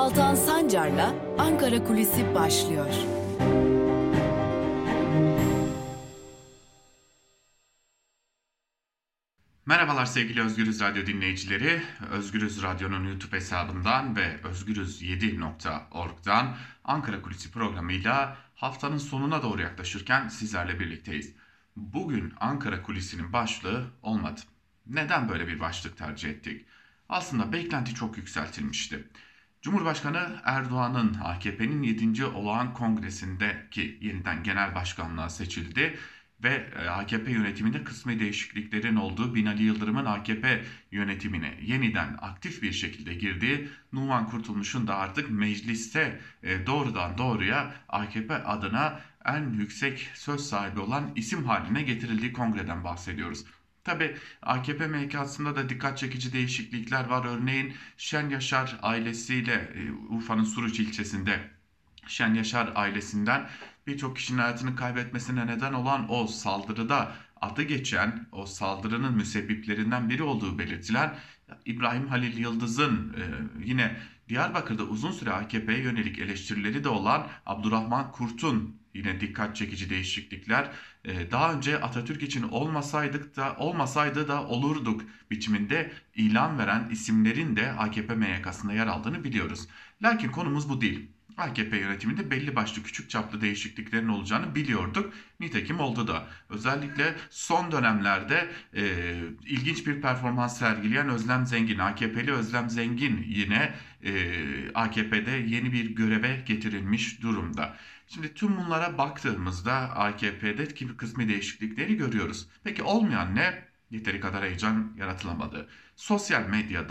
Altan Sancar'la Ankara Kulisi başlıyor. Merhabalar sevgili Özgürüz Radyo dinleyicileri. Özgürüz Radyo'nun YouTube hesabından ve özgürüz7.org'dan Ankara Kulisi programıyla haftanın sonuna doğru yaklaşırken sizlerle birlikteyiz. Bugün Ankara Kulisi'nin başlığı olmadı. Neden böyle bir başlık tercih ettik? Aslında beklenti çok yükseltilmişti. Cumhurbaşkanı Erdoğan'ın AKP'nin 7. Olağan Kongresi'ndeki yeniden genel başkanlığa seçildi ve AKP yönetiminde kısmi değişikliklerin olduğu, Binali Yıldırım'ın AKP yönetimine yeniden aktif bir şekilde girdiği, Numan Kurtulmuş'un da artık mecliste doğrudan doğruya AKP adına en yüksek söz sahibi olan isim haline getirildiği kongreden bahsediyoruz. Tabi AKP MK'sında da dikkat çekici değişiklikler var. Örneğin Şen Yaşar ailesiyle Urfa'nın Suruç ilçesinde Şen Yaşar ailesinden birçok kişinin hayatını kaybetmesine neden olan o saldırıda adı geçen, o saldırının müsebbiplerinden biri olduğu belirtilen İbrahim Halil Yıldız'ın yine Diyarbakır'da uzun süre AKP'ye yönelik eleştirileri de olan Abdurrahman Kurt'un yine dikkat çekici değişiklikler, daha önce Atatürk için olmasaydı da olurduk biçiminde ilan veren isimlerin de AKP MYK'sında yer aldığını biliyoruz. Lakin konumuz bu değil. AKP yönetiminde belli başlı küçük çaplı değişikliklerin olacağını biliyorduk. Nitekim oldu da. Özellikle son dönemlerde ilginç bir performans sergileyen Özlem Zengin, AKP'li Özlem Zengin yine AKP'de yeni bir göreve getirilmiş durumda. Şimdi tüm bunlara baktığımızda AKP'de kısmi değişiklikleri görüyoruz. Peki olmayan ne? Yeteri kadar heyecan yaratılamadı. Sosyal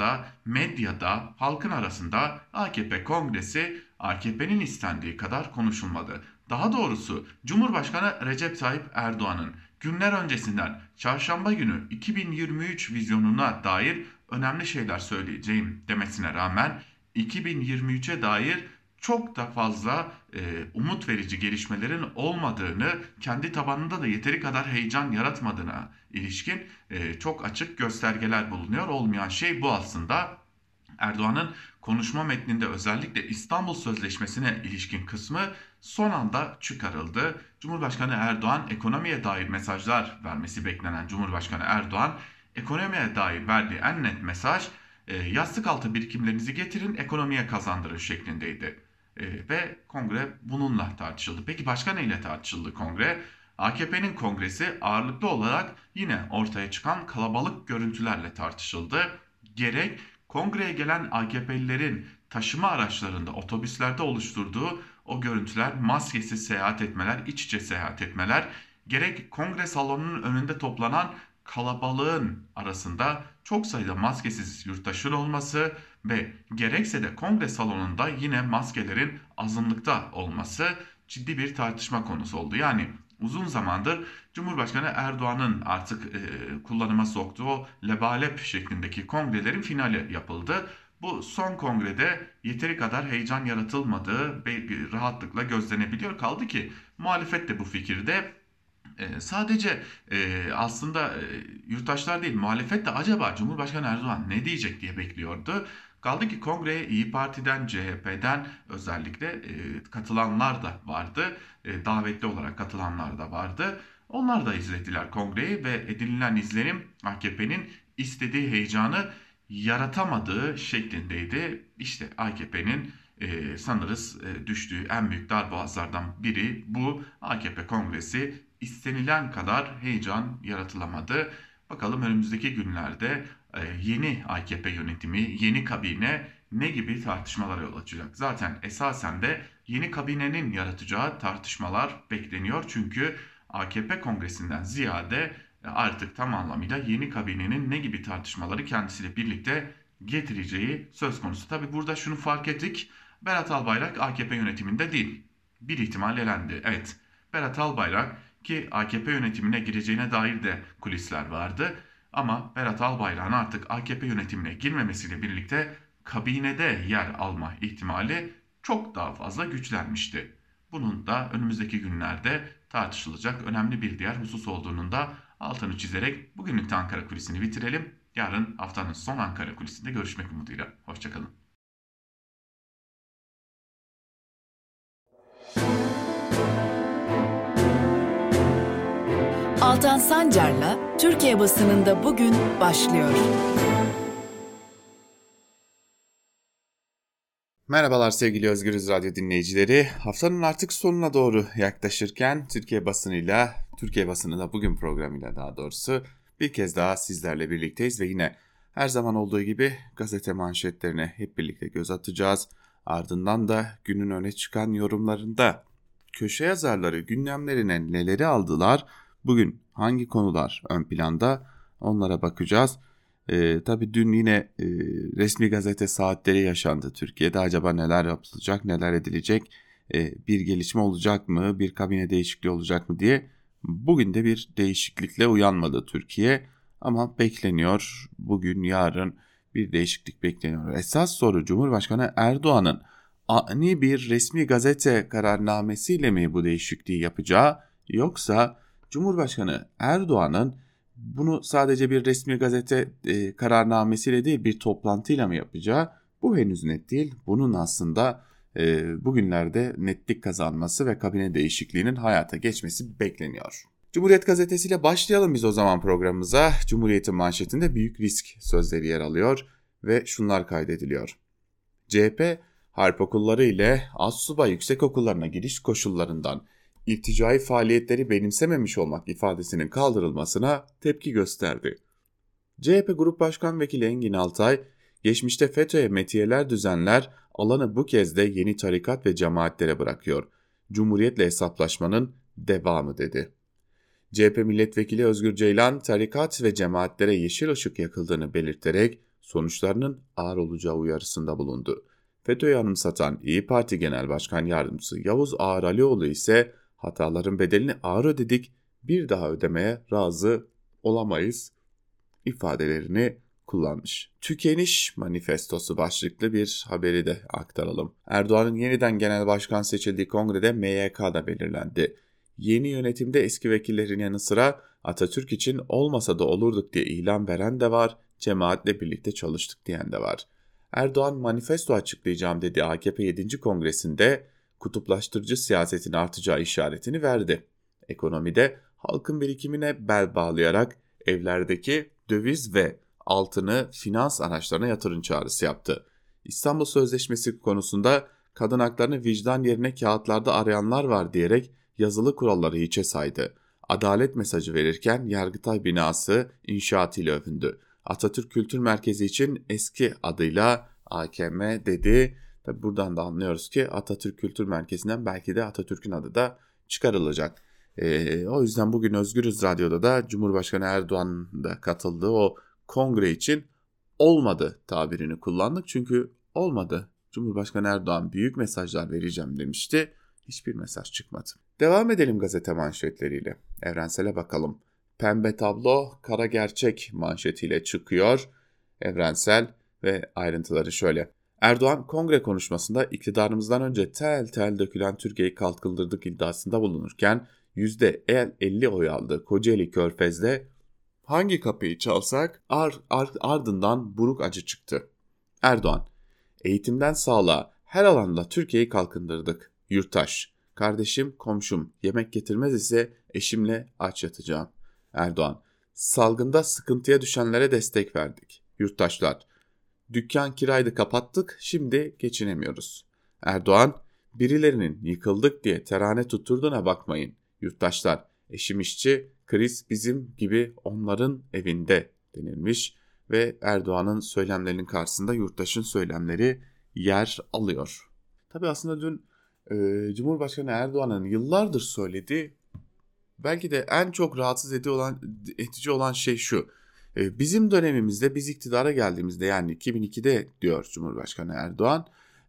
medyada, halkın arasında AKP kongresi AKP'nin istendiği kadar konuşulmadı. Daha doğrusu Cumhurbaşkanı Recep Tayyip Erdoğan'ın günler öncesinden çarşamba günü 2023 vizyonuna dair önemli şeyler söyleyeceğim demesine rağmen 2023'e dair çok da fazla umut verici gelişmelerin olmadığını, kendi tabanında da yeteri kadar heyecan yaratmadığına ilişkin çok açık göstergeler bulunuyor. Olmayan şey bu aslında. Erdoğan'ın konuşma metninde özellikle İstanbul Sözleşmesi'ne ilişkin kısmı son anda çıkarıldı. Cumhurbaşkanı Erdoğan ekonomiye dair mesajlar vermesi beklenen Cumhurbaşkanı Erdoğan ekonomiye dair verdiği en net mesaj yastık altı birikimlerinizi getirin ekonomiye kazandırın şeklindeydi. Ve kongre bununla tartışıldı. Peki başka neyle tartışıldı kongre? AKP'nin kongresi ağırlıklı olarak yine ortaya çıkan kalabalık görüntülerle tartışıldı. Gerek kongreye gelen AKP'lilerin taşıma araçlarında, otobüslerde oluşturduğu o görüntüler, maskesiz seyahat etmeler, iç içe seyahat etmeler, gerek kongre salonunun önünde toplanan kalabalığın arasında çok sayıda maskesiz yurttaşın olması ve gerekse de kongre salonunda yine maskelerin azınlıkta olması ciddi bir tartışma konusu oldu. Yani uzun zamandır Cumhurbaşkanı Erdoğan'ın artık kullanıma soktuğu o lebalep şeklindeki kongrelerin finali yapıldı. Bu son kongrede yeteri kadar heyecan yaratılmadığı rahatlıkla gözlenebiliyor. Kaldı ki muhalefet de bu fikirde. Sadece aslında yurttaşlar değil, muhalefet de acaba Cumhurbaşkanı Erdoğan ne diyecek diye bekliyordu. Kaldı ki kongreye İyi Parti'den, CHP'den özellikle katılanlar da vardı. Davetli olarak katılanlar da vardı. Onlar da izlediler kongreyi ve edinilen izlenim AKP'nin istediği heyecanı yaratamadığı şeklindeydi. İşte AKP'nin sanırız düştüğü en büyük darboğazlardan biri bu. AKP kongresi istenilen kadar heyecan yaratılamadı. Bakalım önümüzdeki günlerde yeni AKP yönetimi, yeni kabine ne gibi tartışmalara yol açacak? Zaten esasen de yeni kabinenin yaratacağı tartışmalar bekleniyor. Çünkü AKP kongresinden ziyade artık tam anlamıyla yeni kabinenin ne gibi tartışmaları kendisiyle birlikte getireceği söz konusu. Tabi burada şunu fark ettik. Berat Albayrak AKP yönetiminde değil. Bir ihtimal elendi. Evet, Berat Albayrak ki AKP yönetimine gireceğine dair de kulisler vardı. Ama Berat Albayrak'ın artık AKP yönetimine girmemesiyle birlikte kabinede yer alma ihtimali çok daha fazla güçlenmişti. Bunun da önümüzdeki günlerde tartışılacak önemli bir diğer husus olduğunun da altını çizerek bugünlük de Ankara Kulisi'ni bitirelim. Yarın haftanın son Ankara Kulisi'nde görüşmek umuduyla. Hoşçakalın. Altan Sancar'la Türkiye basınında bugün başlıyor. Merhabalar sevgili Özgürüz Radyo dinleyicileri. Haftanın artık sonuna doğru yaklaşırken Türkiye basınında bugün programıyla daha doğrusu bir kez daha sizlerle birlikteyiz ve yine her zaman olduğu gibi gazete manşetlerine hep birlikte göz atacağız. Ardından da günün öne çıkan yorumlarında köşe yazarları gündemlerine neleri aldılar, bugün hangi konular ön planda onlara bakacağız. Tabii dün yine resmi gazete saatleri yaşandı Türkiye'de. Acaba neler yapılacak, neler edilecek, bir gelişme olacak mı, bir kabine değişikliği olacak mı diye. Bugün de bir değişiklikle uyanmadı Türkiye ama bekleniyor. Bugün, yarın bir değişiklik bekleniyor. Esas soru Cumhurbaşkanı Erdoğan'ın ani bir resmi gazete kararnamesiyle mi bu değişikliği yapacağı, yoksa Cumhurbaşkanı Erdoğan'ın bunu sadece bir resmi gazete kararnamesiyle değil bir toplantıyla mı yapacağı, bu henüz net değil. Bunun aslında bugünlerde netlik kazanması ve kabine değişikliğinin hayata geçmesi bekleniyor. Cumhuriyet gazetesiyle başlayalım biz o zaman programımıza. Cumhuriyet'in manşetinde büyük risk sözleri yer alıyor ve şunlar kaydediliyor. CHP, harp okulları ile astsubay yüksekokullarına giriş koşullarından irticai faaliyetleri benimsememiş olmak ifadesinin kaldırılmasına tepki gösterdi. CHP Grup Başkan Vekili Engin Altay, geçmişte FETÖ'ye metiyeler düzenler, alanı bu kez de yeni tarikat ve cemaatlere bırakıyor. Cumhuriyetle hesaplaşmanın devamı dedi. CHP Milletvekili Özgür Ceylan, tarikat ve cemaatlere yeşil ışık yakıldığını belirterek sonuçlarının ağır olacağı uyarısında bulundu. FETÖ'yü anımsatan İYİ Parti Genel Başkan Yardımcısı Yavuz Ağaralioğlu ise hataların bedelini ağır ödedik, bir daha ödemeye razı olamayız ifadelerini kullanmış. Tükeniş manifestosu başlıklı bir haberi de aktaralım. Erdoğan'ın yeniden genel başkan seçildiği kongrede MYK da belirlendi. Yeni yönetimde eski vekillerin yanı sıra Atatürk için olmasa da olurduk diye ilan veren de var, cemaatle birlikte çalıştık diyen de var. Erdoğan manifesto açıklayacağım dediği AKP 7. Kongresinde kutuplaştırıcı siyasetin artacağı işaretini verdi. Ekonomide halkın birikimine bel bağlayarak evlerdeki döviz ve altını finans araçlarına yatırım çağrısı yaptı. İstanbul Sözleşmesi konusunda kadın haklarını vicdan yerine kağıtlarda arayanlar var diyerek yazılı kuralları hiçe saydı. Adalet mesajı verirken Yargıtay binası inşaatıyla övündü. Atatürk Kültür Merkezi için eski adıyla AKM dedi. Tabi buradan da anlıyoruz ki Atatürk Kültür Merkezi'nden belki de Atatürk'ün adı da çıkarılacak. O yüzden bugün Özgürüz Radyo'da da Cumhurbaşkanı Erdoğan'ın da katıldığı o kongre için olmadı tabirini kullandık. Çünkü olmadı. Cumhurbaşkanı Erdoğan büyük mesajlar vereceğim demişti. Hiçbir mesaj çıkmadı. Devam edelim gazete manşetleriyle. Evrensel'e bakalım. Pembe tablo kara gerçek manşetiyle çıkıyor Evrensel ve ayrıntıları şöyle. Erdoğan kongre konuşmasında iktidarımızdan önce tel tel dökülen Türkiye'yi kalkındırdık iddiasında bulunurken %50 oy aldı. Kocaeli Körfez'de hangi kapıyı çalsak ardından buruk acı çıktı. Erdoğan, eğitimden sağlığa her alanda Türkiye'yi kalkındırdık. Yurttaş, kardeşim komşum yemek getirmez ise eşimle aç yatacağım. Erdoğan, salgında sıkıntıya düşenlere destek verdik. Yurttaşlar, dükkan kiraydı kapattık, şimdi geçinemiyoruz. Erdoğan, birilerinin yıkıldık diye terane tutturduğuna bakmayın. Yurttaşlar, eşim işçi, kriz bizim gibi onların evinde denilmiş ve Erdoğan'ın söylemlerinin karşısında yurttaşın söylemleri yer alıyor. Tabii aslında dün Cumhurbaşkanı Erdoğan'ın yıllardır söylediği, belki de en çok rahatsız edici olan şey şu. Bizim dönemimizde, biz iktidara geldiğimizde, yani 2002'de diyor Cumhurbaşkanı Erdoğan,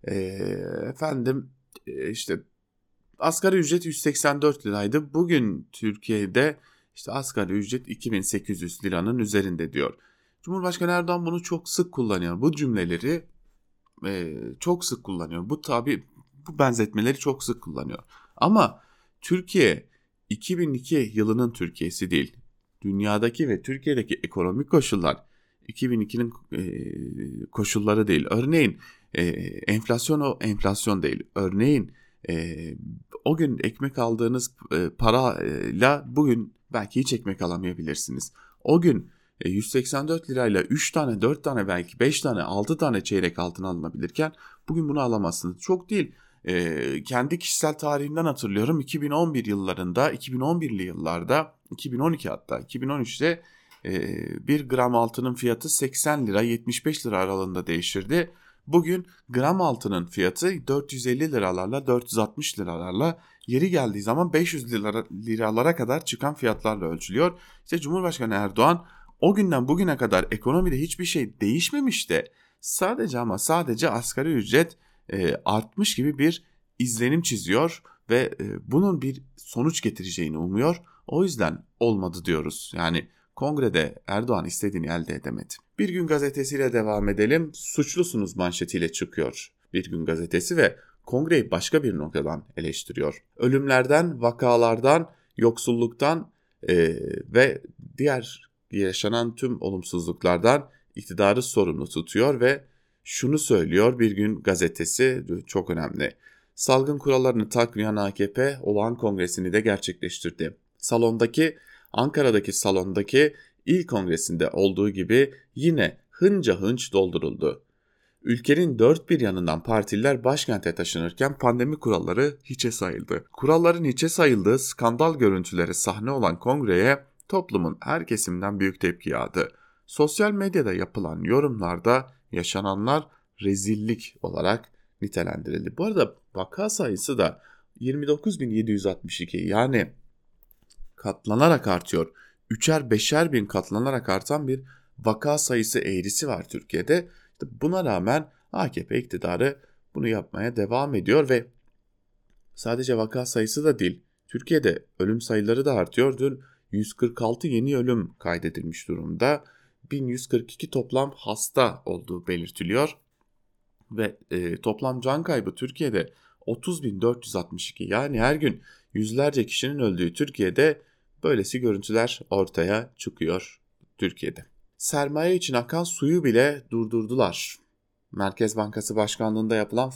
işte asgari ücret 184 liraydı. Bugün Türkiye'de işte asgari ücret 2800 liranın üzerinde diyor. Cumhurbaşkanı Erdoğan bunu çok sık kullanıyor. Bu cümleleri çok sık kullanıyor. Bu benzetmeleri çok sık kullanıyor. Ama Türkiye 2002 yılının Türkiye'si değil. Dünyadaki ve Türkiye'deki ekonomik koşullar 2002'nin koşulları değil. Örneğin enflasyon o enflasyon değil. Örneğin o gün ekmek aldığınız parayla bugün belki hiç ekmek alamayabilirsiniz. O gün 184 lirayla 3 tane, 4 tane, belki 5 tane, 6 tane çeyrek altın alınabilirken bugün bunu alamazsınız. Çok değil. Kendi kişisel tarihimden hatırlıyorum. 2011 yıllarında, 2011'li yıllarda, 2012 hatta 2013'te 1 gram altının fiyatı 80 lira 75 lira aralığında değişirdi. Bugün gram altının fiyatı 450 liralarla 460 liralarla, yeri geldiği zaman 500 liralara kadar çıkan fiyatlarla ölçülüyor. İşte Cumhurbaşkanı Erdoğan o günden bugüne kadar ekonomide hiçbir şey değişmemiş de sadece asgari ücret artmış gibi bir izlenim çiziyor ve bunun bir sonuç getireceğini umuyor. O yüzden olmadı diyoruz. Yani kongrede Erdoğan istediğini elde edemedi. Bir Gün Gazetesi'yle devam edelim. Suçlusunuz manşetiyle çıkıyor Bir Gün Gazetesi ve kongreyi başka bir noktadan eleştiriyor. Ölümlerden, vakalardan, yoksulluktan ve diğer yaşanan tüm olumsuzluklardan iktidarı sorumlu tutuyor ve şunu söylüyor Bir Gün Gazetesi, çok önemli. Salgın kurallarını takmayan AKP olağan kongresini de gerçekleştirdi. Ankara'daki salondaki il kongresinde olduğu gibi yine hınca hınç dolduruldu. Ülkenin dört bir yanından partililer başkente taşınırken pandemi kuralları hiçe sayıldı. Kuralların hiçe sayıldığı skandal görüntüleri sahne olan kongreye toplumun her kesiminden büyük tepki yağdı. Sosyal medyada yapılan yorumlarda yaşananlar rezillik olarak nitelendirildi. Bu arada vaka sayısı da 29.762, yani katlanarak artıyor. 3'er 5'er bin katlanarak artan bir vaka sayısı eğrisi var Türkiye'de. İşte buna rağmen AKP iktidarı bunu yapmaya devam ediyor ve sadece vaka sayısı da değil, Türkiye'de ölüm sayıları da artıyor. Dün 146 yeni ölüm kaydedilmiş durumda. 1142 toplam hasta olduğu belirtiliyor ve toplam can kaybı Türkiye'de 30.462, yani her gün yüzlerce kişinin öldüğü Türkiye'de böylesi görüntüler ortaya çıkıyor Türkiye'de. Sermaye için akan suyu bile durdurdular. Merkez Bankası Başkanlığı'nda yapılan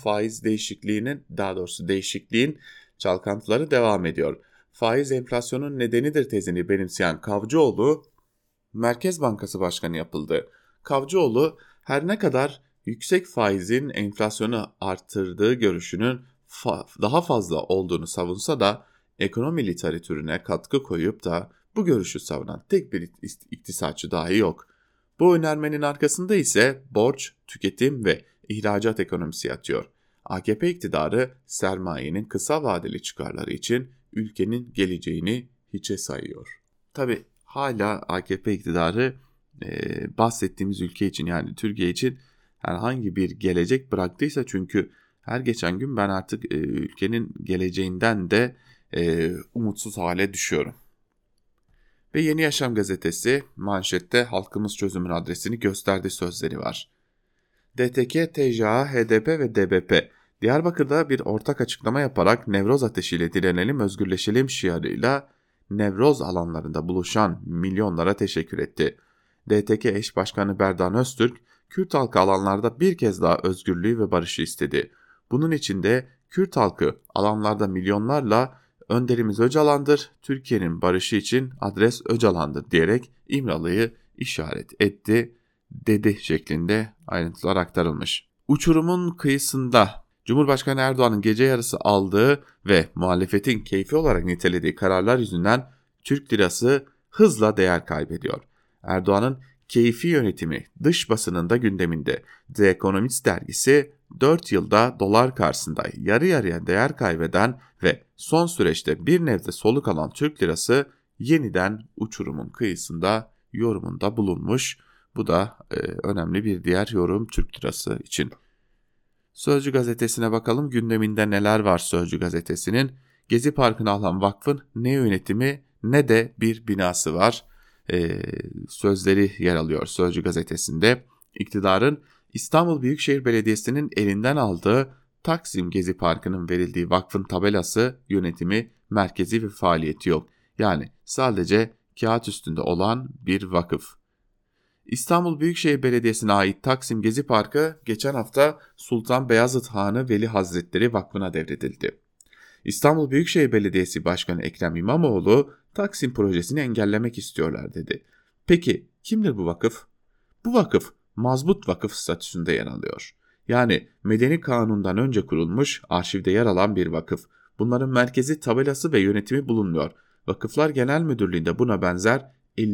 değişikliğin çalkantıları devam ediyor. Faiz enflasyonun nedenidir tezini benimseyen Kavcıoğlu Merkez Bankası Başkanı yapıldı. Kavcıoğlu her ne kadar yüksek faizin enflasyonu arttırdığı görüşünün daha fazla olduğunu savunsa da ekonomi literatürüne katkı koyup da bu görüşü savunan tek bir iktisatçı dahi yok. Bu önermenin arkasında ise borç, tüketim ve ihracat ekonomisi yatıyor. AKP iktidarı sermayenin kısa vadeli çıkarları için ülkenin geleceğini hiçe sayıyor. Tabii hala AKP iktidarı bahsettiğimiz ülke için, yani Türkiye için herhangi bir gelecek bıraktıysa, çünkü her geçen gün ben artık ülkenin geleceğinden de umutsuz hale düşüyorum. Ve Yeni Yaşam gazetesi manşette halkımız çözümün adresini gösterdi sözleri var. DTK, TCA, HDP ve DBP Diyarbakır'da bir ortak açıklama yaparak Nevroz ateşiyle direnelim, özgürleşelim şiarıyla Nevroz alanlarında buluşan milyonlara teşekkür etti. DTK eş başkanı Berdan Öztürk, Kürt halkı alanlarda bir kez daha özgürlüğü ve barışı istedi. Bunun için de Kürt halkı alanlarda milyonlarla önderimiz Öcalan'dır, Türkiye'nin barışı için adres Öcalan'dır diyerek İmralı'yı işaret etti, dedi şeklinde ayrıntılar aktarılmış. Uçurumun kıyısında Cumhurbaşkanı Erdoğan'ın gece yarısı aldığı ve muhalefetin keyfi olarak nitelediği kararlar yüzünden Türk lirası hızla değer kaybediyor. Erdoğan'ın keyfi yönetimi dış basınında gündeminde. The Economist dergisi 4 yılda dolar karşısında yarı yarıya değer kaybeden ve son süreçte bir nebze soluk alan Türk lirası yeniden uçurumun kıyısında yorumunda bulunmuş. Bu da önemli bir diğer yorum Türk lirası için. Sözcü gazetesine bakalım, gündeminde neler var Sözcü gazetesinin. Gezi Parkı'nı alan vakfın ne yönetimi ne de bir binası var. Sözleri yer alıyor Sözcü gazetesinde. İktidarın İstanbul Büyükşehir Belediyesi'nin elinden aldığı Taksim Gezi Parkı'nın verildiği vakfın tabelası, yönetimi, merkezi ve faaliyeti yok. Yani sadece kağıt üstünde olan bir vakıf. İstanbul Büyükşehir Belediyesi'ne ait Taksim Gezi Parkı geçen hafta Sultan Beyazıt Hanı Veli Hazretleri Vakfı'na devredildi. İstanbul Büyükşehir Belediyesi Başkanı Ekrem İmamoğlu Taksim projesini engellemek istiyorlar dedi. Peki kimdir bu vakıf? Bu vakıf mazbut vakıf statüsünde yer alıyor. Yani Medeni Kanun'dan önce kurulmuş, arşivde yer alan bir vakıf. Bunların merkezi, tabelası ve yönetimi bulunmuyor. Vakıflar Genel Müdürlüğü'nde buna benzer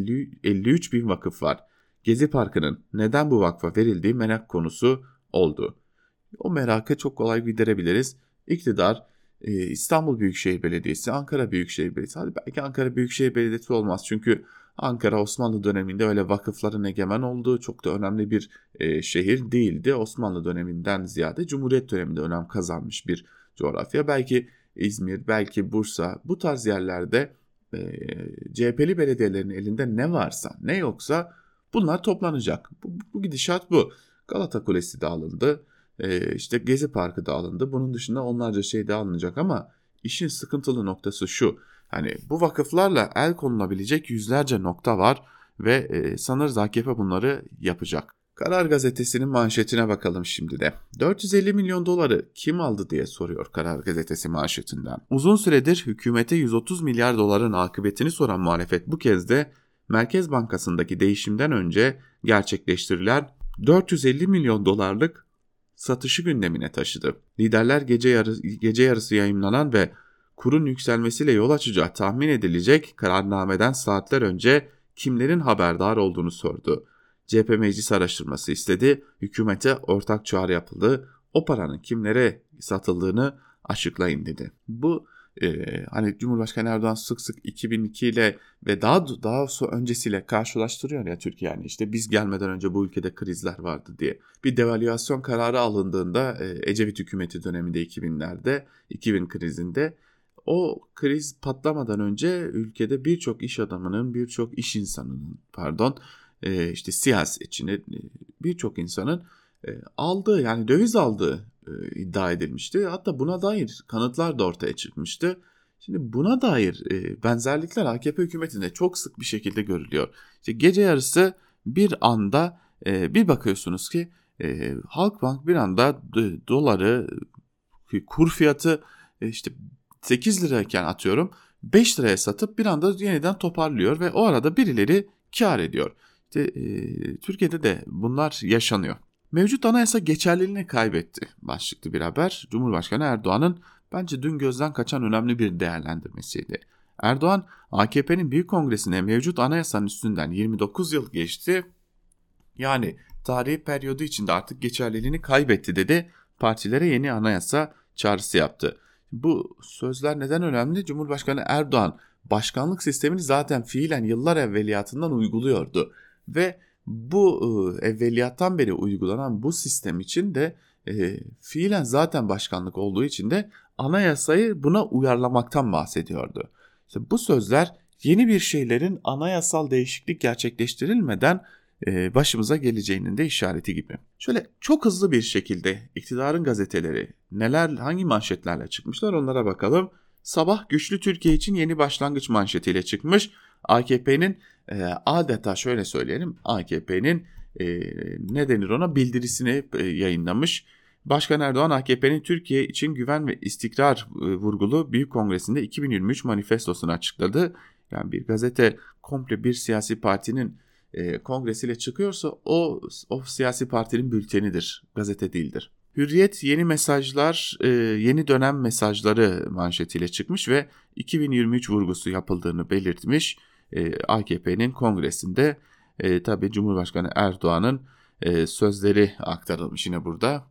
53 bin vakıf var. Gezi Parkı'nın neden bu vakfa verildiği merak konusu oldu. O merakı çok kolay giderebiliriz. İktidar İstanbul Büyükşehir Belediyesi, Ankara Büyükşehir Belediyesi, hadi belki Ankara Büyükşehir Belediyesi olmaz çünkü Ankara Osmanlı döneminde öyle vakıfların egemen olduğu çok da önemli bir şehir değildi. Osmanlı döneminden ziyade Cumhuriyet döneminde önem kazanmış bir coğrafya. Belki İzmir, belki Bursa, bu tarz yerlerde CHP'li belediyelerin elinde ne varsa, ne yoksa bunlar toplanacak. Bu gidişat bu. Galata Kulesi de alındı. İşte Gezi Parkı da alındı. Bunun dışında onlarca şey de alınacak ama işin sıkıntılı noktası şu. Hani bu vakıflarla el konulabilecek yüzlerce nokta var ve sanırız AKP bunları yapacak. Karar Gazetesi'nin manşetine bakalım şimdi de. 450 milyon doları kim aldı diye soruyor Karar Gazetesi manşetinden. Uzun süredir hükümete 130 milyar doların akıbetini soran muhalefet bu kez de Merkez Bankası'ndaki değişimden önce gerçekleştirilen 450 milyon dolarlık satışı gündemine taşıdı. Liderler gece yarısı yayımlanan ve kurun yükselmesiyle yol açacağı tahmin edilecek kararnameden saatler önce kimlerin haberdar olduğunu sordu. CHP meclis araştırması istedi, hükümete ortak çağrı yapıldı, o paranın kimlere satıldığını açıklayın dedi. Bu hani Cumhurbaşkanı Erdoğan sık sık 2002 ile ve daha öncesiyle karşılaştırıyor ya Türkiye, yani işte biz gelmeden önce bu ülkede krizler vardı diye. Bir devalüasyon kararı alındığında Ecevit hükümeti döneminde 2000'lerde 2000 krizinde o kriz patlamadan önce ülkede birçok iş adamının, birçok iş insanının işte siyasetçinin birçok insanın aldığı, yani döviz aldığı iddia edilmişti. Hatta buna dair kanıtlar da ortaya çıkmıştı. Şimdi buna dair benzerlikler AKP hükümetinde çok sık bir şekilde görülüyor. İşte gece yarısı bir anda bir bakıyorsunuz ki Halkbank bir anda doları kur fiyatı işte 8 lirayken atıyorum 5 liraya satıp bir anda yeniden toparlıyor ve o arada birileri kar ediyor. İşte, Türkiye'de de bunlar yaşanıyor. Mevcut anayasa geçerliliğini kaybetti başlıklı bir haber. Cumhurbaşkanı Erdoğan'ın bence dün gözden kaçan önemli bir değerlendirmesiydi. Erdoğan, AKP'nin Büyük Kongresi'ne mevcut anayasanın üstünden 29 yıl geçti. Yani tarihi periyodu içinde artık geçerliliğini kaybetti dedi. Partilere yeni anayasa çağrısı yaptı. Bu sözler neden önemli? Cumhurbaşkanı Erdoğan başkanlık sistemini zaten fiilen yıllar evveliyatından uyguluyordu. Ve bu evveliyattan beri uygulanan bu sistem için de fiilen zaten başkanlık olduğu için de anayasayı buna uyarlamaktan bahsediyordu. İşte bu sözler yeni bir şeylerin anayasal değişiklik gerçekleştirilmeden başımıza geleceğinin de işareti gibi. Şöyle çok hızlı bir şekilde iktidarın gazeteleri hangi manşetlerle çıkmışlar onlara bakalım. Sabah güçlü Türkiye için yeni başlangıç manşetiyle çıkmış. AKP'nin adeta şöyle söyleyelim, AKP'nin ne denir ona, bildirisini yayınlamış. Başkan Erdoğan AKP'nin Türkiye için güven ve istikrar vurgulu Büyük Kongresi'nde 2023 manifestosunu açıkladı. Yani bir gazete komple bir siyasi partinin kongresiyle çıkıyorsa o siyasi partinin bültenidir, gazete değildir. Hürriyet yeni mesajlar, yeni dönem mesajları manşetiyle çıkmış ve 2023 vurgusu yapıldığını belirtmiş. AKP'nin kongresinde tabii Cumhurbaşkanı Erdoğan'ın sözleri aktarılmış yine burada.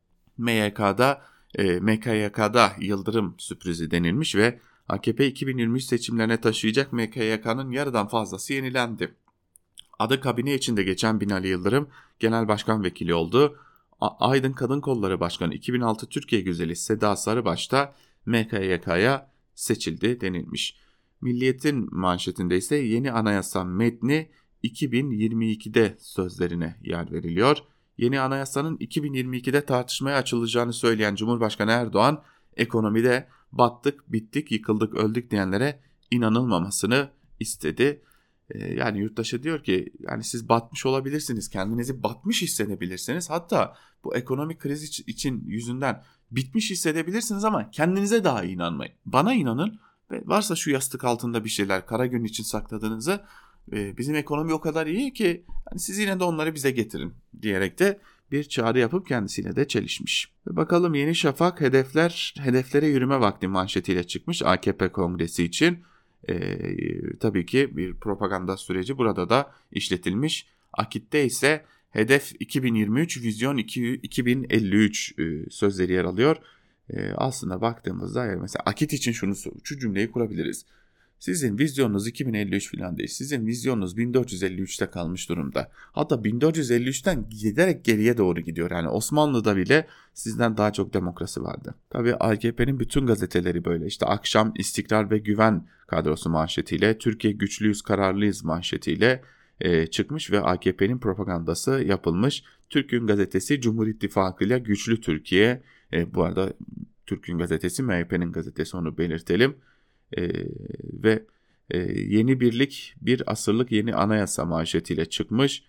MKYK'da yıldırım sürprizi denilmiş ve AKP 2023 seçimlerine taşıyacak MKYK'nın yarıdan fazlası yenilendi. Adı kabine içinde geçen Binali Yıldırım genel başkan vekili oldu. Aydın Kadın Kolları Başkanı 2006 Türkiye Güzeli Seda Sarıbaş da MKYK'ya seçildi denilmiş. Milliyet'in manşetinde ise yeni anayasa metni 2022'de sözlerine yer veriliyor. Yeni anayasanın 2022'de tartışmaya açılacağını söyleyen Cumhurbaşkanı Erdoğan, ekonomide battık, bittik, yıkıldık, öldük diyenlere inanılmamasını istedi. Yani yurttaşa diyor ki yani siz batmış olabilirsiniz, kendinizi batmış hissedebilirsiniz. Hatta bu ekonomik kriz için yüzünden bitmiş hissedebilirsiniz ama kendinize daha inanmayın. Bana inanın ve varsa şu yastık altında bir şeyler kara gün için sakladığınızı, bizim ekonomi o kadar iyi ki hani siz yine de onları bize getirin diyerek de bir çağrı yapıp kendisiyle de çelişmiş. Ve bakalım Yeni Şafak hedeflere yürüme vakti manşetiyle çıkmış AKP kongresi için. Tabii ki bir propaganda süreci burada da işletilmiş. Akit'te ise hedef 2023, vizyon 2053 sözleri yer alıyor. Aslında baktığımızda yani mesela Akit için şu cümleyi kurabiliriz. Sizin vizyonunuz 2053 falan değil. Sizin vizyonunuz 1453'te kalmış durumda. Hatta 1453'ten giderek geriye doğru gidiyor. Yani Osmanlı'da bile sizden daha çok demokrasi vardı. Tabii AKP'nin bütün gazeteleri böyle. İşte Akşam İstikrar ve Güven kadrosu manşetiyle, Türkiye güçlüyüz kararlıyız manşetiyle çıkmış ve AKP'nin propagandası yapılmış. Türk Gün Gazetesi Cumhur İttifakı ile Güçlü Türkiye. Bu arada Türk Gün Gazetesi MHP'nin gazetesi, onu belirtelim. Ve yeni birlik bir asırlık yeni anayasa manşetiyle çıkmış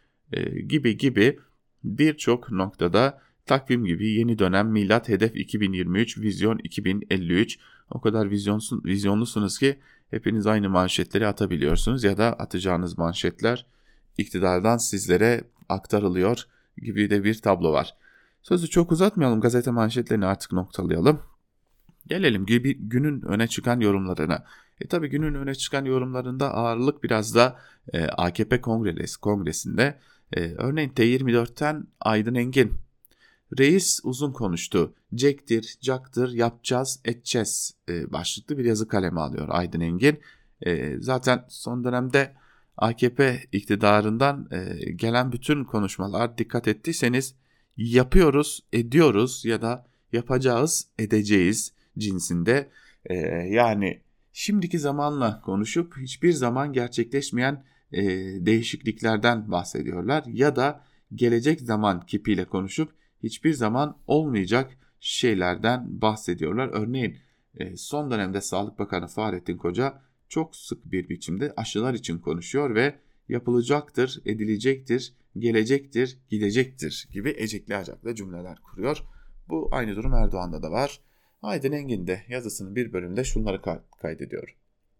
gibi birçok noktada takvim gibi yeni dönem milat hedef 2023 vizyon 2053 o kadar vizyonlusunuz ki hepiniz aynı manşetleri atabiliyorsunuz ya da atacağınız manşetler iktidardan sizlere aktarılıyor gibi de bir tablo var. Sözü çok uzatmayalım, gazete manşetlerini artık noktalayalım. Gelelim günün öne çıkan yorumlarına. Tabii günün öne çıkan yorumlarında ağırlık biraz da AKP kongresinde. Örneğin T24'ten Aydın Engin. Reis uzun konuştu. Cektir, caktır, yapacağız, edeceğiz başlıklı bir yazı kaleme alıyor Aydın Engin. Zaten son dönemde AKP iktidarından gelen bütün konuşmalar dikkat ettiyseniz yapıyoruz, ediyoruz ya da yapacağız, edeceğiz cinsinde. Yani şimdiki zamanla konuşup hiçbir zaman gerçekleşmeyen değişikliklerden bahsediyorlar ya da gelecek zaman kipiyle konuşup hiçbir zaman olmayacak şeylerden bahsediyorlar. Örneğin son dönemde Sağlık Bakanı Fahrettin Koca çok sık bir biçimde aşılar için konuşuyor ve yapılacaktır, edilecektir, gelecektir, gidecektir gibi ecekli acaklı cümleler kuruyor. Bu aynı durum Erdoğan'da da var. Aydın Engin de yazısının bir bölümünde şunları kaydediyor.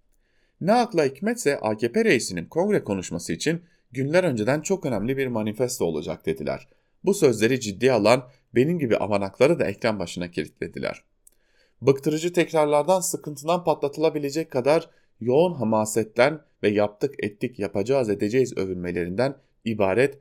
Ne akla hikmetse AKP reisinin kongre konuşması için günler önceden çok önemli bir manifesto olacak dediler. Bu sözleri ciddiye alan benim gibi amanakları da ekran başına kilitlediler. Bıktırıcı tekrarlardan, sıkıntıdan patlatılabilecek kadar yoğun hamasetten ve yaptık ettik yapacağız edeceğiz övünmelerinden ibaret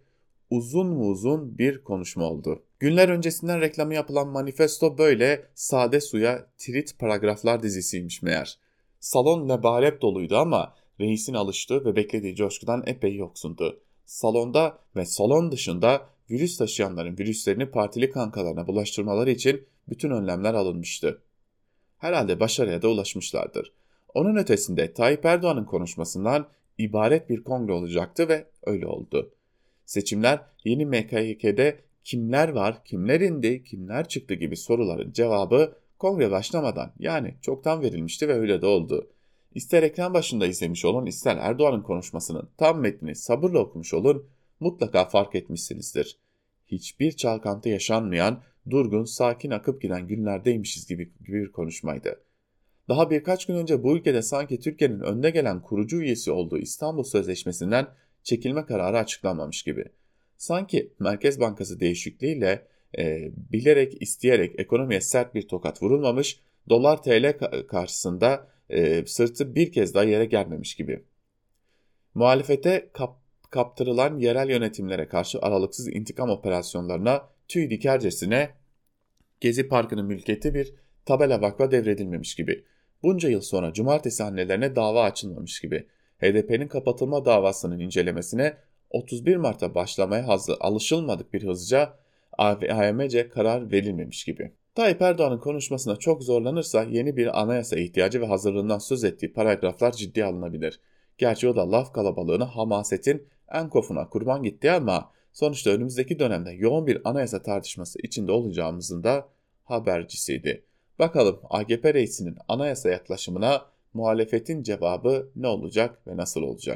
uzun bir konuşma oldu. Günler öncesinden reklamı yapılan manifesto böyle sade suya tirit paragraflar dizisiymiş meğer. Salon lebalep doluydu ama reisin alıştığı ve beklediği coşkudan epey yoksundu. Salonda ve salon dışında virüs taşıyanların virüslerini partili kankalarına bulaştırmaları için bütün önlemler alınmıştı. Herhalde başarıya da ulaşmışlardır. Onun ötesinde Tayyip Erdoğan'ın konuşmasından ibaret bir kongre olacaktı ve öyle oldu. Seçimler yeni MKYK'de kimler var, kimler indi, kimler çıktı gibi soruların cevabı kongre başlamadan yani çoktan verilmişti ve öyle de oldu. İster ekran başında izlemiş olun, ister Erdoğan'ın konuşmasının tam metnini sabırla okumuş olun, mutlaka fark etmişsinizdir. Hiçbir çalkantı yaşanmayan, durgun, sakin akıp giden günlerdeymişiz gibi bir konuşmaydı. Daha birkaç gün önce bu ülkede sanki Türkiye'nin önde gelen kurucu üyesi olduğu İstanbul Sözleşmesi'nden çekilme kararı açıklanmamış gibi. Sanki Merkez Bankası değişikliğiyle bilerek isteyerek ekonomiye sert bir tokat vurulmamış, dolar TL karşısında sırtı bir kez daha yere gelmemiş gibi. Muhalefete kaptırılan yerel yönetimlere karşı aralıksız intikam operasyonlarına tüy dikercesine Gezi Parkı'nın mülkiyeti bir tabela vakfa devredilmemiş gibi. Bunca yıl sonra cumartesi annelerine dava açılmamış gibi. HDP'nin kapatılma davasının incelemesine 31 Mart'ta başlamaya alışılmadık bir hızlıca AYM'ce karar verilmemiş gibi. Tayyip Erdoğan'ın konuşmasına çok zorlanırsa yeni bir anayasa ihtiyacı ve hazırlığından söz ettiği paragraflar ciddiye alınabilir. Gerçi o da laf kalabalığına, hamasetin en kofuna kurban gitti ama sonuçta önümüzdeki dönemde yoğun bir anayasa tartışması içinde olacağımızın da habercisiydi. Bakalım AKP reisinin anayasa yaklaşımına muhalefetin cevabı ne olacak ve nasıl olacak?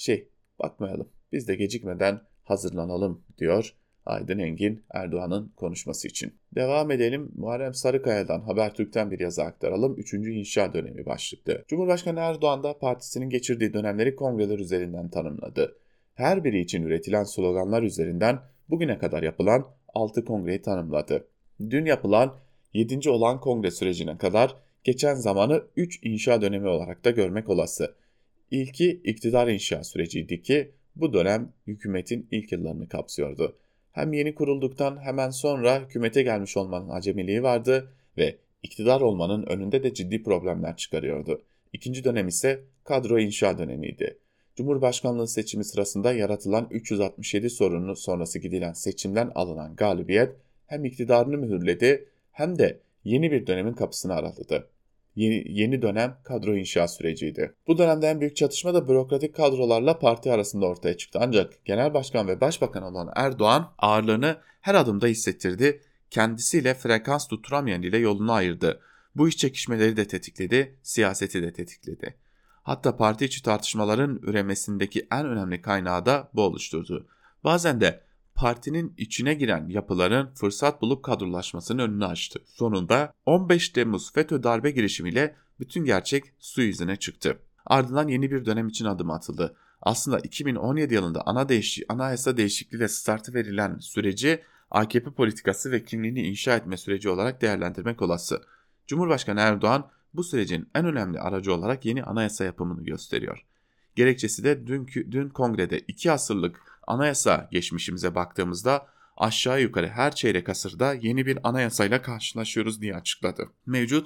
Bakmayalım, biz de gecikmeden hazırlanalım diyor Aydın Engin Erdoğan'ın konuşması için. Devam edelim. Muharrem Sarıkaya'dan Habertürk'ten bir yazı aktaralım. 3. İnşa dönemi başlıklı. Cumhurbaşkanı Erdoğan da partisinin geçirdiği dönemleri kongreler üzerinden tanımladı. Her biri için üretilen sloganlar üzerinden bugüne kadar yapılan 6 kongreyi tanımladı. Dün yapılan 7. olan kongre sürecine kadar geçen zamanı 3 inşa dönemi olarak da görmek olası. İlki iktidar inşa süreciydi ki bu dönem hükümetin ilk yıllarını kapsıyordu. Hem yeni kurulduktan hemen sonra hükümete gelmiş olmanın acemiliği vardı ve iktidar olmanın önünde de ciddi problemler çıkarıyordu. İkinci dönem ise kadro inşa dönemiydi. Cumhurbaşkanlığı seçimi sırasında yaratılan 367 sorunu sonrası gidilen seçimden alınan galibiyet hem iktidarını mühürledi hem de yeni bir dönemin kapısını araladı. Yeni dönem kadro inşa süreciydi. Bu dönemde en büyük çatışma da bürokratik kadrolarla parti arasında ortaya çıktı. Ancak Genel Başkan ve Başbakan olan Erdoğan ağırlığını her adımda hissettirdi. Kendisiyle frekans tutturamayan ile yolunu ayırdı. Bu iç çekişmeleri de tetikledi, siyaseti de tetikledi. Hatta parti içi tartışmaların üremesindeki en önemli kaynağı da bu oluşturdu. Bazen de partinin içine giren yapıların fırsat bulup kadrolaşmasının önünü açtı. Sonunda 15 Temmuz FETÖ darbe girişimiyle bütün gerçek su yüzüne çıktı. Ardından yeni bir dönem için adım atıldı. Aslında 2017 yılında anayasa değişikliğiyle startı verilen süreci AKP politikası ve kimliğini inşa etme süreci olarak değerlendirmek olası. Cumhurbaşkanı Erdoğan bu sürecin en önemli aracı olarak yeni anayasa yapımını gösteriyor. Gerekçesi de dün kongrede 2 asırlık anayasa geçmişimize baktığımızda aşağı yukarı her çeyrek asırda yeni bir anayasayla karşılaşıyoruz diye açıkladı. Mevcut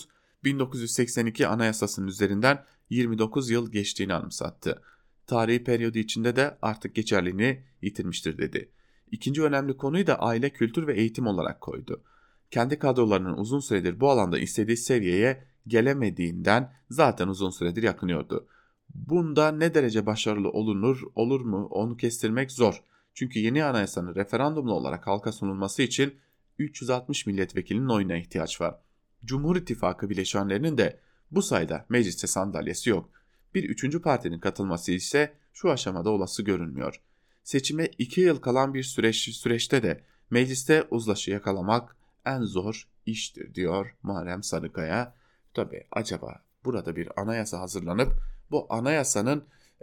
1982 anayasasının üzerinden 29 yıl geçtiğini anımsattı. Tarihi periyodu içinde de artık geçerliliğini yitirmiştir dedi. İkinci önemli konuyu da aile, kültür ve eğitim olarak koydu. Kendi kadrolarının uzun süredir bu alanda istediği seviyeye gelemediğinden zaten uzun süredir yakınıyordu. Bunda ne derece başarılı olur mu onu kestirmek zor. Çünkü yeni anayasanın referandumlu olarak halka sunulması için 360 milletvekilinin oyuna ihtiyaç var. Cumhur İttifakı bileşenlerinin de bu sayıda mecliste sandalyesi yok. Bir üçüncü partinin katılması ise şu aşamada olası görünmüyor. Seçime 2 yıl kalan bir süreçte de mecliste uzlaşı yakalamak en zor iştir diyor Muharrem Sarıkaya. Tabii acaba burada bir anayasa hazırlanıp bu anayasanın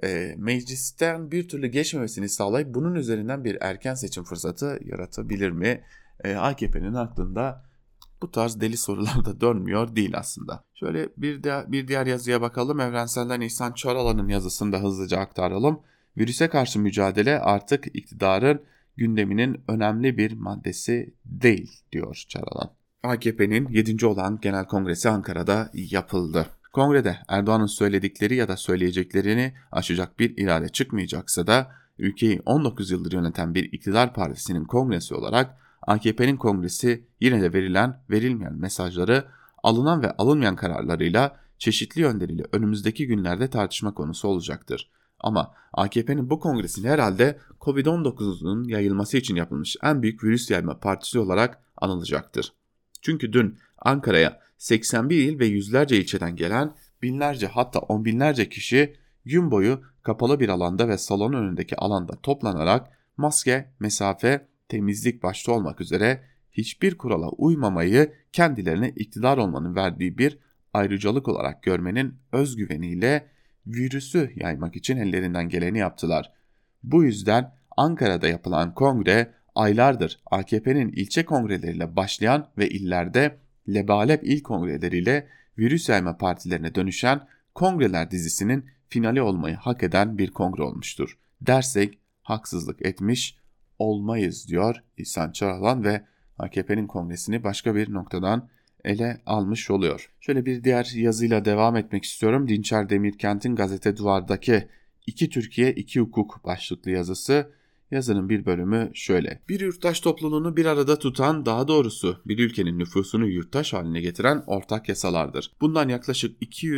meclisten bir türlü geçmemesini sağlayıp bunun üzerinden bir erken seçim fırsatı yaratabilir mi? AKP'nin aklında bu tarz deli sorular da dönmüyor değil aslında. Şöyle bir diğer yazıya bakalım. Evrensel'den İhsan Çaralan'ın yazısını da hızlıca aktaralım. Virüse karşı mücadele artık iktidarın gündeminin önemli bir maddesi değil diyor Çaralan. AKP'nin 7. olan Genel Kongresi Ankara'da yapıldı. Kongrede Erdoğan'ın söyledikleri ya da söyleyeceklerini aşacak bir irade çıkmayacaksa da ülkeyi 19 yıldır yöneten bir iktidar partisinin kongresi olarak AKP'nin kongresi yine de verilmeyen mesajları alınan ve alınmayan kararlarıyla çeşitli yönleriyle önümüzdeki günlerde tartışma konusu olacaktır. Ama AKP'nin bu kongresini herhalde Covid-19'un yayılması için yapılmış en büyük virüs yayma partisi olarak anılacaktır. Çünkü dün Ankara'ya 81 il ve yüzlerce ilçeden gelen binlerce hatta on binlerce kişi gün boyu kapalı bir alanda ve salon önündeki alanda toplanarak maske, mesafe, temizlik başta olmak üzere hiçbir kurala uymamayı kendilerine iktidar olmanın verdiği bir ayrıcalık olarak görmenin özgüveniyle virüsü yaymak için ellerinden geleni yaptılar. Bu yüzden Ankara'da yapılan kongre aylardır AKP'nin ilçe kongreleriyle başlayan ve illerde lebalep il kongreleriyle virüs yayma partilerine dönüşen kongreler dizisinin finali olmayı hak eden bir kongre olmuştur. Dersek haksızlık etmiş olmayız diyor İhsan Çaralan ve AKP'nin kongresini başka bir noktadan ele almış oluyor. Şöyle bir diğer yazıyla devam etmek istiyorum. Dinçer Demirkent'in Gazete Duvar'daki 2 Türkiye 2 Hukuk başlıklı yazısı. Yazının bir bölümü şöyle. Bir yurttaş topluluğunu bir arada tutan, daha doğrusu bir ülkenin nüfusunu yurttaş haline getiren ortak yasalardır. Bundan yaklaşık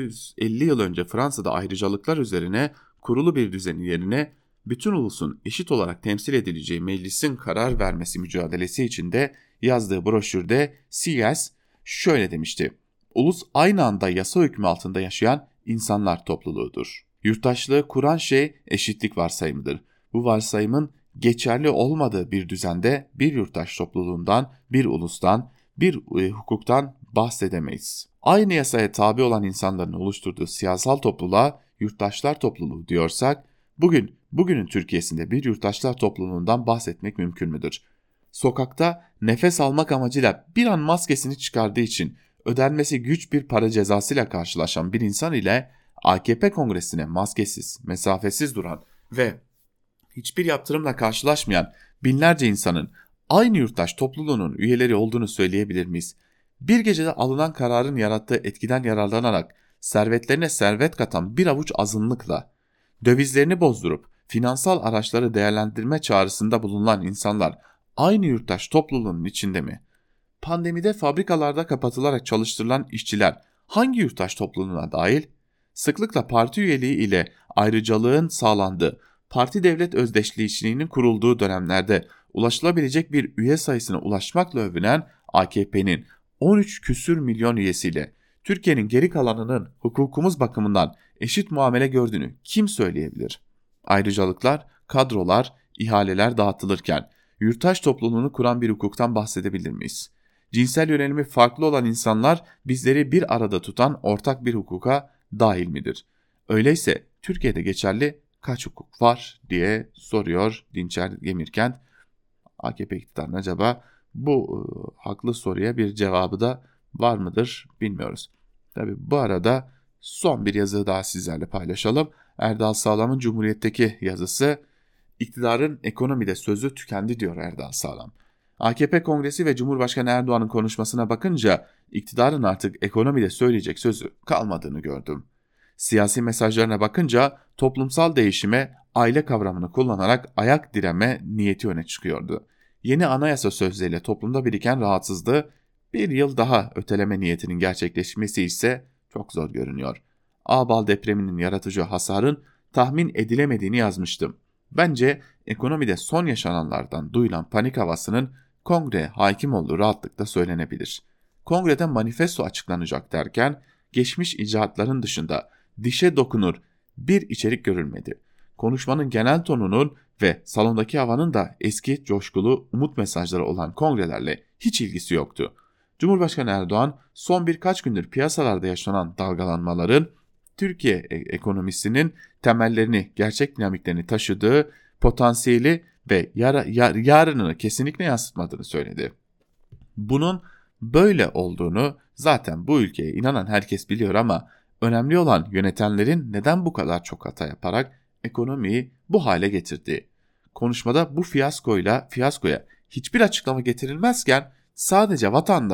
250 yıl önce Fransa'da ayrıcalıklar üzerine kurulu bir düzenin yerine bütün ulusun eşit olarak temsil edileceği meclisin karar vermesi mücadelesi içinde yazdığı broşürde Sieyès şöyle demişti. Ulus aynı anda yasa hükmü altında yaşayan insanlar topluluğudur. Yurttaşlığı kuran şey eşitlik varsayımıdır. Bu varsayımın geçerli olmadığı bir düzende bir yurttaş topluluğundan, bir ulustan, bir hukuktan bahsedemeyiz. Aynı yasaya tabi olan insanların oluşturduğu siyasal topluluğa yurttaşlar topluluğu diyorsak, bugünün Türkiye'sinde bir yurttaşlar topluluğundan bahsetmek mümkün müdür? Sokakta nefes almak amacıyla bir an maskesini çıkardığı için ödenmesi güç bir para cezasıyla karşılaşan bir insan ile AKP kongresine maskesiz, mesafesiz duran ve hiçbir yaptırımla karşılaşmayan binlerce insanın aynı yurttaş topluluğunun üyeleri olduğunu söyleyebilir miyiz? Bir gecede alınan kararın yarattığı etkiden yararlanarak servetlerine servet katan bir avuç azınlıkla, dövizlerini bozdurup finansal araçları değerlendirme çağrısında bulunan insanlar aynı yurttaş topluluğunun içinde mi? Pandemide fabrikalarda kapatılarak çalıştırılan işçiler hangi yurttaş topluluğuna dahil? Sıklıkla parti üyeliği ile ayrıcalığın sağlandığı, parti devlet özdeşliğinin kurulduğu dönemlerde ulaşılabilecek bir üye sayısına ulaşmakla övünen AKP'nin 13 küsür milyon üyesiyle Türkiye'nin geri kalanının hukukumuz bakımından eşit muamele gördüğünü kim söyleyebilir? Ayrıcalıklar, kadrolar, ihaleler dağıtılırken yurttaş topluluğunu kuran bir hukuktan bahsedebilir miyiz? Cinsel yönelimi farklı olan insanlar bizleri bir arada tutan ortak bir hukuka dahil midir? Öyleyse Türkiye'de geçerli kaç hukuk var diye soruyor Dinçer Demirkent. AKP iktidarının acaba bu haklı soruya bir cevabı da var mıdır bilmiyoruz. Tabii bu arada son bir yazı daha sizlerle paylaşalım. Erdal Sağlam'ın Cumhuriyet'teki yazısı, iktidarın ekonomide sözü tükendi diyor Erdal Sağlam. AKP Kongresi ve Cumhurbaşkanı Erdoğan'ın konuşmasına bakınca iktidarın artık ekonomide söyleyecek sözü kalmadığını gördüm. Siyasi mesajlarına bakınca toplumsal değişime aile kavramını kullanarak ayak direme niyeti öne çıkıyordu. Yeni anayasa sözleriyle toplumda biriken rahatsızlığı bir yıl daha öteleme niyetinin gerçekleşmesi ise çok zor görünüyor. Ağbal depreminin yaratıcı hasarın tahmin edilemediğini yazmıştım. Bence ekonomide son yaşananlardan duyulan panik havasının kongre hakim olduğu rahatlıkla söylenebilir. Kongrede manifesto açıklanacak derken geçmiş icraatların dışında dişe dokunur bir içerik görülmedi. Konuşmanın genel tonunun ve salondaki havanın da eski coşkulu umut mesajları olan kongrelerle hiç ilgisi yoktu. Cumhurbaşkanı Erdoğan son birkaç gündür piyasalarda yaşanan dalgalanmaların Türkiye ekonomisinin temellerini, gerçek dinamiklerini taşıdığı potansiyeli ve yarınını kesinlikle yansıtmadığını söyledi. Bunun böyle olduğunu zaten bu ülkeye inanan herkes biliyor ama önemli olan yönetenlerin neden bu kadar çok hata yaparak ekonomiyi bu hale getirdiği. Konuşmada bu fiyaskoya hiçbir açıklama getirilmezken sadece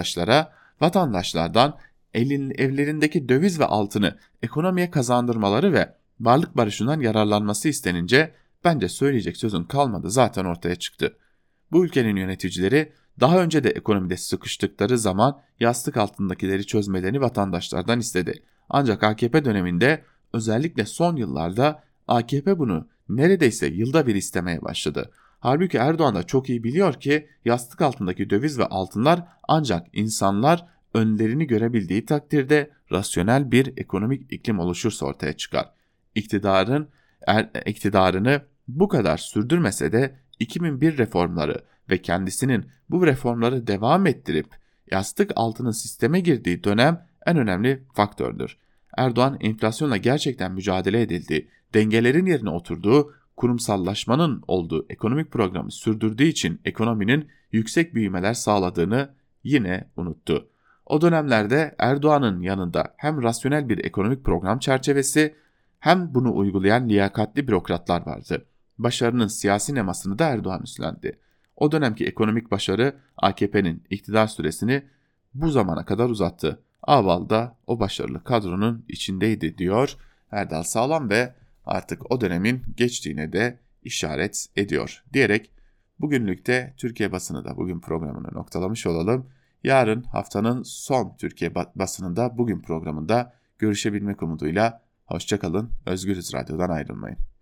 vatandaşlardan evlerindeki döviz ve altını ekonomiye kazandırmaları ve varlık barışından yararlanması istenince bence söyleyecek sözün kalmadı zaten ortaya çıktı. Bu ülkenin yöneticileri daha önce de ekonomide sıkıştıkları zaman yastık altındakileri çözmelerini vatandaşlardan istedi. Ancak AKP döneminde özellikle son yıllarda AKP bunu neredeyse yılda bir istemeye başladı. Halbuki Erdoğan da çok iyi biliyor ki yastık altındaki döviz ve altınlar ancak insanlar önlerini görebildiği takdirde rasyonel bir ekonomik iklim oluşursa ortaya çıkar. İktidarını bu kadar sürdürmese de 2001 reformları ve kendisinin bu reformları devam ettirip yastık altının sisteme girdiği dönem en önemli faktördür. Erdoğan enflasyonla gerçekten mücadele edildiği, dengelerin yerine oturduğu, kurumsallaşmanın olduğu ekonomik programı sürdürdüğü için ekonominin yüksek büyümeler sağladığını yine unuttu. O dönemlerde Erdoğan'ın yanında hem rasyonel bir ekonomik program çerçevesi hem bunu uygulayan liyakatli bürokratlar vardı. Başarının siyasi nemasını da Erdoğan üstlendi. O dönemki ekonomik başarı AKP'nin iktidar süresini bu zamana kadar uzattı. Ağbal da o başarılı kadronun içindeydi diyor Erdal Sağlam ve artık o dönemin geçtiğine de işaret ediyor diyerek bugünlükte Türkiye basını da bugün programını noktalamış olalım. Yarın haftanın son Türkiye basınında bugün programında görüşebilmek umuduyla hoşça kalın. Özgürüz Radyo'dan ayrılmayın.